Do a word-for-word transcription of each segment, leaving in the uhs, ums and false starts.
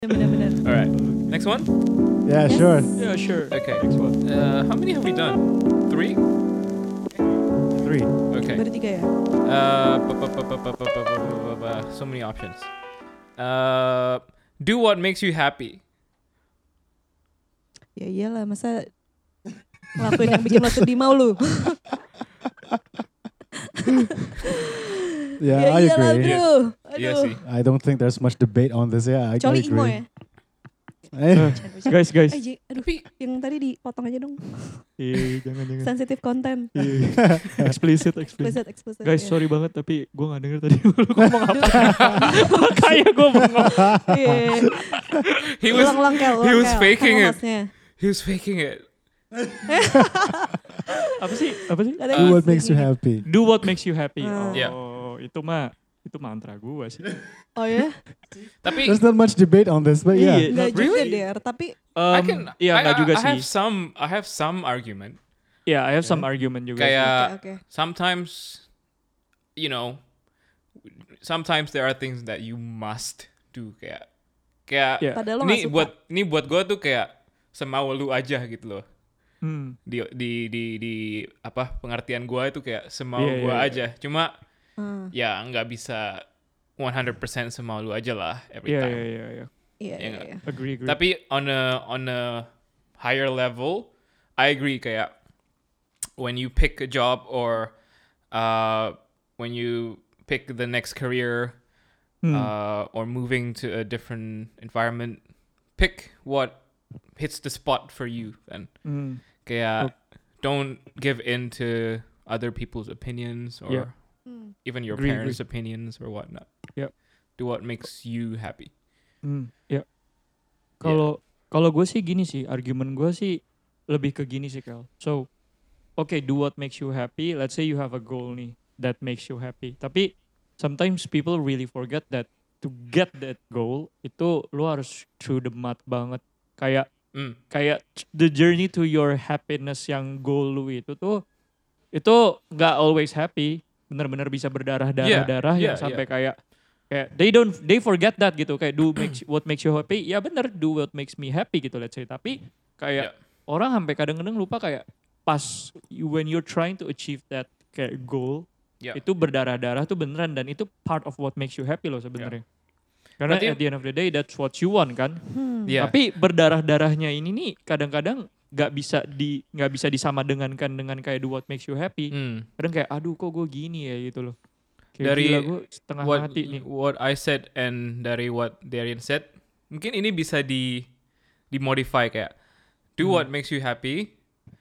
Benar-benar. Alright, next one? Yeah, Yes. sure. Yeah, sure. Okay. Next one. Uh, how many have we done? Three? Three. Okay. Baru tiga ya? Uh, bu- bu- bu- bu- bu- bu- bu- bu- bu- bu- so many options. Uh, do what makes you happy. Ya iyalah, masa ngelakuin yang bikin lo sedih mau lu. Yeah, ya I iyalah, agree. aduh. Iya Aduh. sih. I don't think there's much debate on this. Yeah, I, I Kecuali agree. emo ya. Eh, Guys, guys. Eh, Ji, aduh, yang tadi dipotong aja dong. Iya, jangan jangan. Sensitive content. Iya. Explicit, explicit. Explicit, explicit. Guys, ya. sorry banget tapi gue gak denger tadi lu ngomong apa. Kayak gue bengong. Iya. He was Ulang-ulang Kel, he ulang, was Kel. faking Sama it. hostnya. he was faking it. Apa sih? Apa sih? Ada do yang what makes you faking it. happy. Do what makes you happy. Hmm. Oh, Yeah. itu mah itu mantra gue sih. Oh ya? Tapi There's not much debate on this, but yeah. Iya. Enggak not juga really. Der, tapi Um, I can. Iya, I, enggak juga I, I sih. have some. I have some argument. Yeah, I have some argument juga. sih. Kayak oke, oke. sometimes, you know, sometimes there are things that you must do. Kayak, kayak. Yeah. Padahal lo Ini gak suka. buat ini buat gue tuh kayak semau lu aja gitu loh. Hmm. Di di di di apa pengertian gue itu kayak semau Iya, gue iya, aja. Cuma Hmm. ya nggak bisa one hundred percent semau lu aja lah every Iya, time. iya, iya, iya. Iya, Ya iya, nggak? iya. Agree, agree. Tapi on a on a higher level, I agree kayak when you pick a job or uh when you pick the next career Hmm. uh or moving to a different environment, pick what hits the spot for you and Hmm. kayak don't give in to other people's opinions or Yeah. Hmm. even your Agree, parents' opinions or whatnot. Yep. Do what makes you happy. Hmm, ya. Kalau kalau gue sih gini sih, argumen gue sih lebih ke gini sih, Kel. So, okay, do what makes you happy. Let's say you have a goal nih that makes you happy. Tapi sometimes people really forget that to get that goal itu lu harus through the mud banget. Kayak Mm. kayak the journey to your happiness yang goal lu itu tuh itu nggak always happy. Bener-bener bisa berdarah-darah-darah Yeah, yang yeah, sampai kayak kayak they don't they forget that gitu, kayak do makes what makes you happy, ya bener, do what makes me happy gitu, let's say. Tapi kayak Yeah. orang sampai kadang-kadang lupa kayak pas you, when you're trying to achieve that kayak goal, Yeah. itu berdarah-darah tuh beneran, dan itu part of what makes you happy loh sebenarnya. Karena Berarti- at the end of the day that's what you want kan. Hmm. Yeah. Tapi berdarah-darahnya ini nih kadang-kadang nggak bisa di nggak bisa disama dengankan dengan kayak do what makes you happy. Mm. Kadang kayak aduh kok gue gini ya gitu loh. Kayak Dari gila gue setengah what mati nih. what I said and dari what Darian said, mungkin ini bisa di dimodify kayak do Hmm. what makes you happy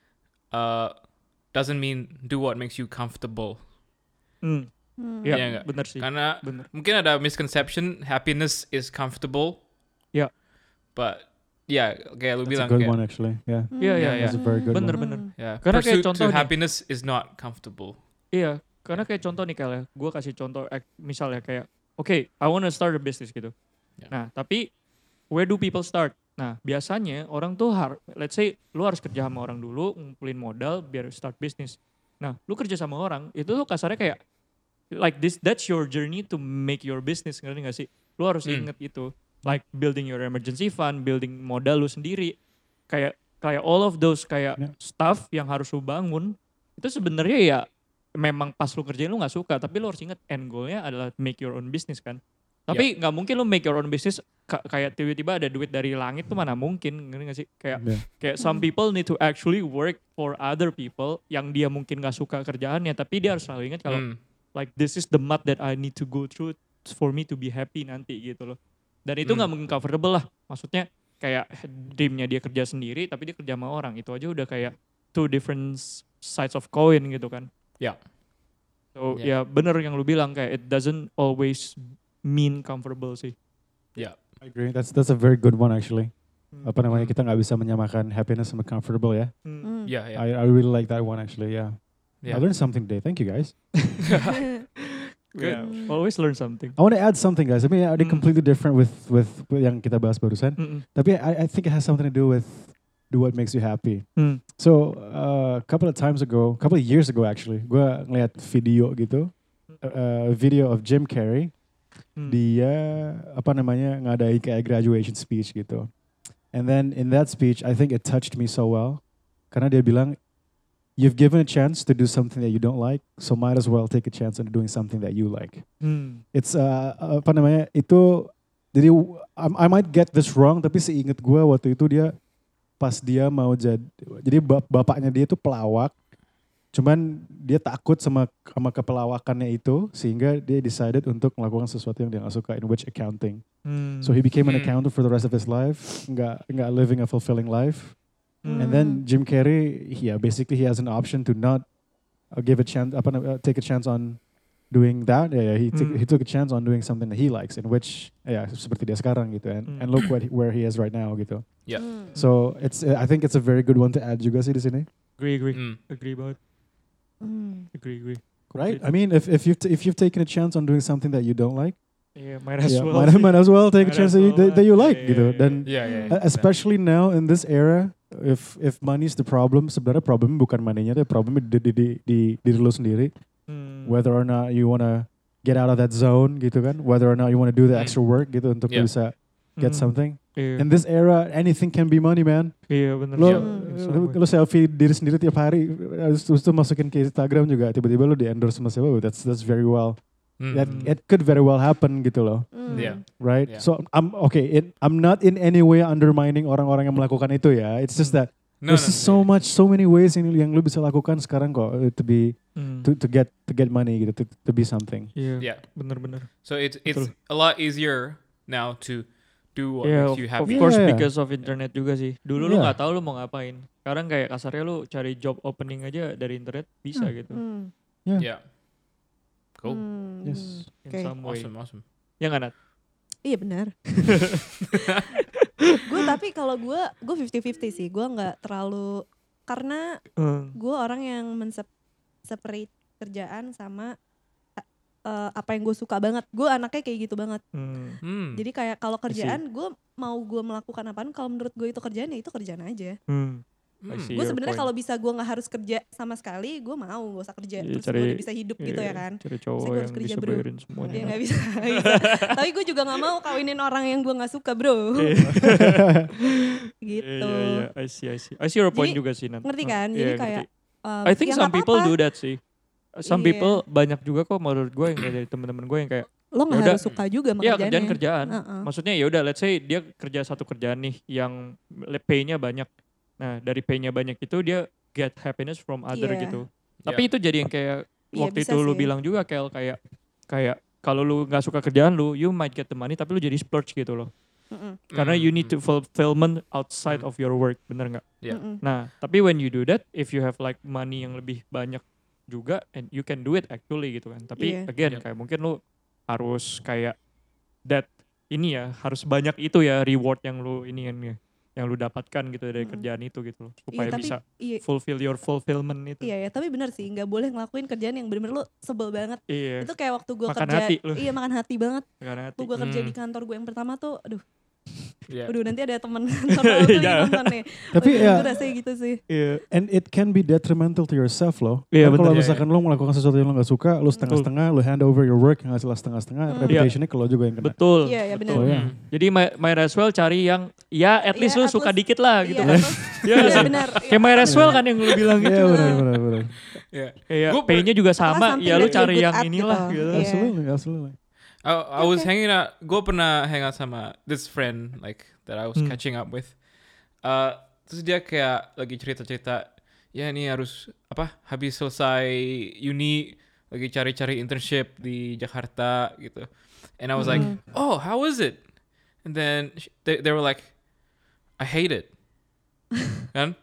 uh doesn't mean do what makes you comfortable. Hmm. Hmm. Ya, Iya nggak? bener sih. Karena Bener. mungkin ada misconception happiness is comfortable. Ya. But ya kayak lu That's bilang a good kayak one actually. Yeah, Hmm. Iya, iya, Yeah, iya. that's a very good Bener, one. bener. ya Karena kayak pursuit contoh to nih. happiness is not comfortable. Iya, karena kayak contoh nih Kel ya, gue kasih contoh ek- misalnya kayak, oke, I wanna start a business gitu. Ya. Nah, tapi where do people start? Nah, biasanya orang tuh har, let's say lu harus kerja sama orang dulu, ngumpulin modal biar start bisnis. Nah, lu kerja sama orang, itu tuh kasarnya kayak, like this, that's your journey to make your business, ngerti gak sih? Lu harus Hmm. inget itu, like building your emergency fund, building modal lu sendiri, kayak kayak all of those kayak Ya. stuff yang harus lu bangun, itu sebenarnya ya memang pas lu kerjain lu nggak suka, tapi lu harus inget end goalnya adalah make your own business kan. Tapi nggak mungkin lu make your own business ka- kayak tiba-tiba ada duit dari langit tuh, mana mungkin, ngerti gak sih? Kayak Yeah. kayak some people need to actually work for other people yang dia mungkin nggak suka kerjaannya, tapi dia harus selalu ingat kalau Mm. like this is the mud that I need to go through for me to be happy nanti gitu loh. Dan itu nggak Hmm. mungkin comfortable lah. Maksudnya kayak dreamnya dia kerja sendiri tapi dia kerja sama orang. Itu aja udah kayak two different sides of coin gitu kan. Ya. So Ya. ya bener yang lu bilang, kayak it doesn't always mean comfortable sih. Ya. I agree. That's that's a very good one actually. Hmm. Apa namanya, kita nggak bisa menyamakan happiness sama comfortable ya. Hmm. Hmm. Ya, ya. I I really like that one actually. Yeah. Ya. I learned something today. Thank you guys. Good. Yeah, always learn something. I want to add something, guys. I mean, are they Mm. completely different with with with yang kita bahas barusan? Mm-mm. Tapi I I think it has something to do with do what makes you happy. Hmm. So uh, a couple of times ago, a couple of years ago actually, gue ngeliat video gitu, uh, video of Jim Carrey. Hmm. dia apa namanya ngadain kayak graduation speech gitu. And then in that speech, I think it touched me so well. Karena dia bilang, you've given a chance to do something that you don't like, so might as well take a chance on doing something that you like. Hmm. It's uh, apa namanya itu. Jadi I, I might get this wrong, tapi seingat gue waktu itu dia pas dia mau jadi, jadi bap- bapaknya dia itu pelawak. Cuman dia takut sama sama kepelawakannya itu sehingga dia decided untuk melakukan sesuatu yang dia gak suka, in which accounting. Hmm. So he became an Hmm. accountant for the rest of his life, nggak nggak living a fulfilling life. Hmm. And then Jim Carrey, yeah, basically he has an option to not uh, give a chance, apa, nam- uh, take a chance on doing that. Yeah, yeah he took Hmm. he took a chance on doing something that he likes, in which yeah seperti dia sekarang gitu. And Hmm. and look what he- where he is right now gitu. Yeah. Hmm. So it's uh, I think it's a very good one to add juga sih di sini. Agree, agree, Mm. agree banget. Hmm. Agree, agree. Right? Completely. I mean, if if you've t- if you've taken a chance on doing something that you don't like, Yeah, might as yeah, well. might, might as well take a Might chance as that you, well, that, that you yeah, like yeah, gitu. yeah, Dan Yeah, yeah. uh, yeah. especially now in this era, if if money is the problem, sebenarnya problem bukan money-nya, tapi problemnya di di di, di diri lu sendiri. Hmm. Whether or not you wanna get out of that zone gitu kan, whether or not you wanna do the Hmm. extra work gitu untuk Yeah. lu bisa get Hmm. something. Iya, In this era, anything can be money, man. iya bener. Lo, Iya, lu, sama. lu selfie diri sendiri tiap hari, terus terus tuh masukin ke Instagram juga, tiba-tiba lu di endorse sama siapa, oh, that's that's very well. Mm. That Hmm. it could very well happen gitu loh, Hmm. Yeah. right? Yeah. So I'm okay. It, I'm not in any way undermining orang-orang yang melakukan itu ya. It's just Hmm. that No, there's no, just so much, so many ways yang, yang lu bisa lakukan sekarang kok uh, to be Hmm. to, to get to get money gitu, to, to be something. Iya, Yeah. bener-bener. So it's it's Betul. a lot easier now to do what Yeah, makes of, you of happy. course Yeah, yeah. because of internet juga sih. Dulu lu Yeah. nggak tahu lu mau ngapain. Sekarang kayak kasarnya lu cari job opening aja dari internet bisa Hmm. gitu. Hmm. Yeah. Cool. Hmm. Yes. In Oke. some way. Awesome, awesome. Ya nggak Nat? Iya benar. Gue tapi kalau gue gue fifty fifty sih. Gue nggak terlalu karena Hmm. gue orang yang men-separate kerjaan sama uh, apa yang gue suka banget. Gue anaknya kayak gitu banget. Hmm. Hmm. Jadi kayak kalau kerjaan gue mau gue melakukan apaan, kalau menurut gue itu kerjaan ya itu kerjaan aja. Hmm. Hmm. I see Gue your sebenarnya point. kalau bisa gue nggak harus kerja sama sekali, gue mau gak usah kerja. Iya, Terus cari- gue udah bisa hidup gitu Iya, ya kan. Cari cowok Saya harus yang kerja, bisa bro. bayarin semuanya. Dia nggak bisa, nggak bisa. Tapi gue juga nggak mau kawinin orang yang gue nggak suka bro. Gitu. Iya, iya, iya. I see, I see. I see your point Jadi, juga sih Nat. Ngerti Oh, kan? iya, Jadi ngerti. kayak um, I think ya some nggak people apa-apa. do that sih. Some Iya. people banyak juga kok menurut gue yang kayak dari temen-temen gue yang kayak Lo nggak Yaudah. harus suka juga sama ya kerjaannya. kerjaan kerjaan. Heeh. Maksudnya ya udah let's say dia kerja satu kerjaan nih yang le- pay-nya banyak. Nah, dari pay-nya banyak itu dia get happiness from other Iya. gitu. Tapi itu jadi yang kayak Iya, waktu bisa itu lu sih. bilang juga Kel kayak kayak kalau lu nggak suka kerjaan lu, you might get the money tapi lu jadi splurge gitu loh. Mm-mm. Karena you need to Mm. fulfillment outside Mm. of your work, bener nggak? Yeah. Mm-mm. Nah, tapi when you do that, if you have like money yang lebih banyak juga, and you can do it actually gitu kan. Tapi Iya. again, Yep. kayak mungkin lu harus kayak that ini ya, harus banyak itu ya reward yang lu ini yang yang lu dapatkan gitu dari Mm. kerjaan itu gitu loh, Iya, supaya tapi bisa iya, fulfill your fulfillment itu. iya ya, tapi benar sih nggak boleh ngelakuin kerjaan yang bener-bener lo sebel banget. Iya. Itu kayak waktu gue Makan kerja, hati lu. iya makan hati banget. Karena Waktu gue kerja Hmm. di kantor gue yang pertama tuh, aduh, Yeah. aduh nanti ada temen kantor gue lagi Jangan. nonton nih. Tapi Aduh, ya, gue rasanya gitu sih. iya. and it can be detrimental to yourself loh. Iya, Kan kalau bener. misalkan lo melakukan sesuatu yang lo gak suka, lo setengah-setengah, lo hand over your work yang hasil setengah-setengah, Hmm. reputationnya ke lo juga yang kena. Betul. Iya, iya, bener. Oh, ya. Hmm. Jadi might, might as well cari yang ya at least Iya, lu at suka least- dikit lah gitu Iya, kan. terus- Iya nggak iya sih? benar. Kayak might as well kan yang lu bilang gitu. Iya benar benar benar. Yeah. Kayak Gua per- pay-nya juga sama, something ya lu that you're cari good yang at inilah gitu. gitu. Iya. Absolutely, absolutely. I, I was Okay. hanging out. Gue pernah hang out sama this friend like that I was Hmm. catching up with. Uh, terus dia kayak lagi cerita-cerita. Ya ini harus apa? Habis selesai uni lagi cari-cari internship di Jakarta gitu. And I was like, Hmm. oh, how is it? And then sh- they they were like, I hate it. Kan?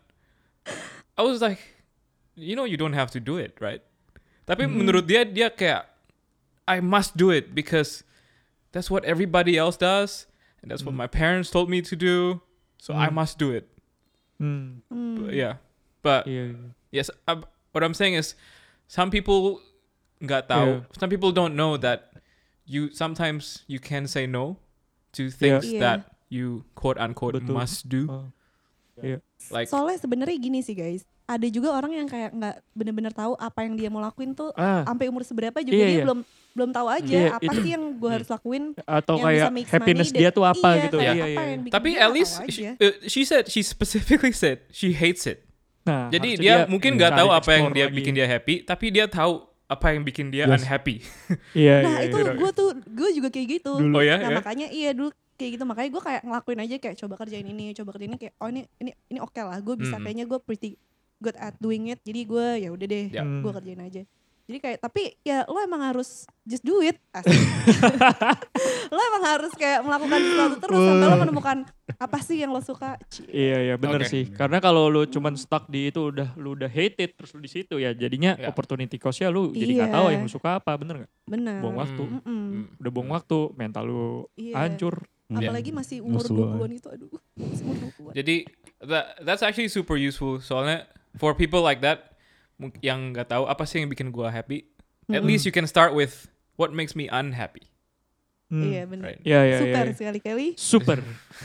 I was like, you know, you don't have to do it, right? Tapi Hmm. menurut dia dia kayak I must do it because that's what everybody else does, and that's what Hmm. my parents told me to do. So I Hmm. must do it. Hmm. Hmm. But yeah, but Iya. yes, uh, what I'm saying is, some people nggak tahu. Yeah. Some people don't know that you sometimes you can say no to things Yeah. that you quote unquote Betul. must do. Oh. Like Soalnya sebenarnya gini sih guys, ada juga orang yang kayak nggak bener-bener tahu apa yang dia mau lakuin tuh Ah, sampai umur seberapa juga Iya, dia iya. belum belum tahu aja Iya, apa itu- sih yang gue harus lakuin atau yang kayak bisa make happiness money dia dan- tuh apa iya, gitu. kayak Iya, apa iya. yang bikin Tapi dia at nggak least tahu she, aja. uh, she said she specifically said she hates it. Nah, Jadi harusnya dia, mungkin nggak tahu apa yang explore dia lagi. bikin dia happy, tapi dia tahu apa yang bikin dia Yes. unhappy. Iya, Nah iya, itu iya. gue tuh gue juga kayak gitu. Dulu. Oh ya, Nah ya? makanya iya dulu kayak gitu makanya gue kayak ngelakuin aja kayak coba kerjain ini coba kerjain ini kayak oh ini ini ini oke lah gue bisa Hmm. kayaknya gue pretty good at doing it jadi gue ya udah deh Ya. gue Hmm. kerjain aja. Jadi kayak tapi ya lo emang harus just do it. Asik. Lo emang harus kayak melakukan sesuatu terus sampai lo menemukan apa sih yang lo suka. Cie. Iya iya bener Oke. sih. Karena kalau lu cuman stuck di itu udah lu udah hate it terus lu di situ ya jadinya Ya. opportunity cost-nya lu jadi nggak Iya. tahu yang lu suka apa, bener nggak? Bener. Buang waktu. Hmm. Mm-mm. Hmm. Udah buang waktu, mental lu Iya. hancur. Apalagi masih umur Musuh dua lo, puluhan itu aduh. Masih umur dua puluhan. Jadi that, that's actually super useful. Soalnya for people like that mung- yang nggak tahu apa sih yang bikin gua happy, at Mm-mm. least you can start with what makes me unhappy. Hmm. Iya bener. Right. Iya iya Super iya. sekali-kali. Super.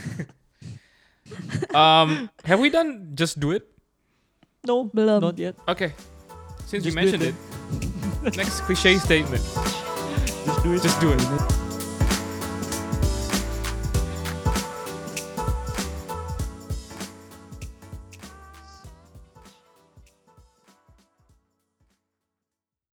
Um, have we done just do it? No, belum. Not yet. Okay. Since you Just do it mentioned it, next cliche statement. Just do it. Just do it.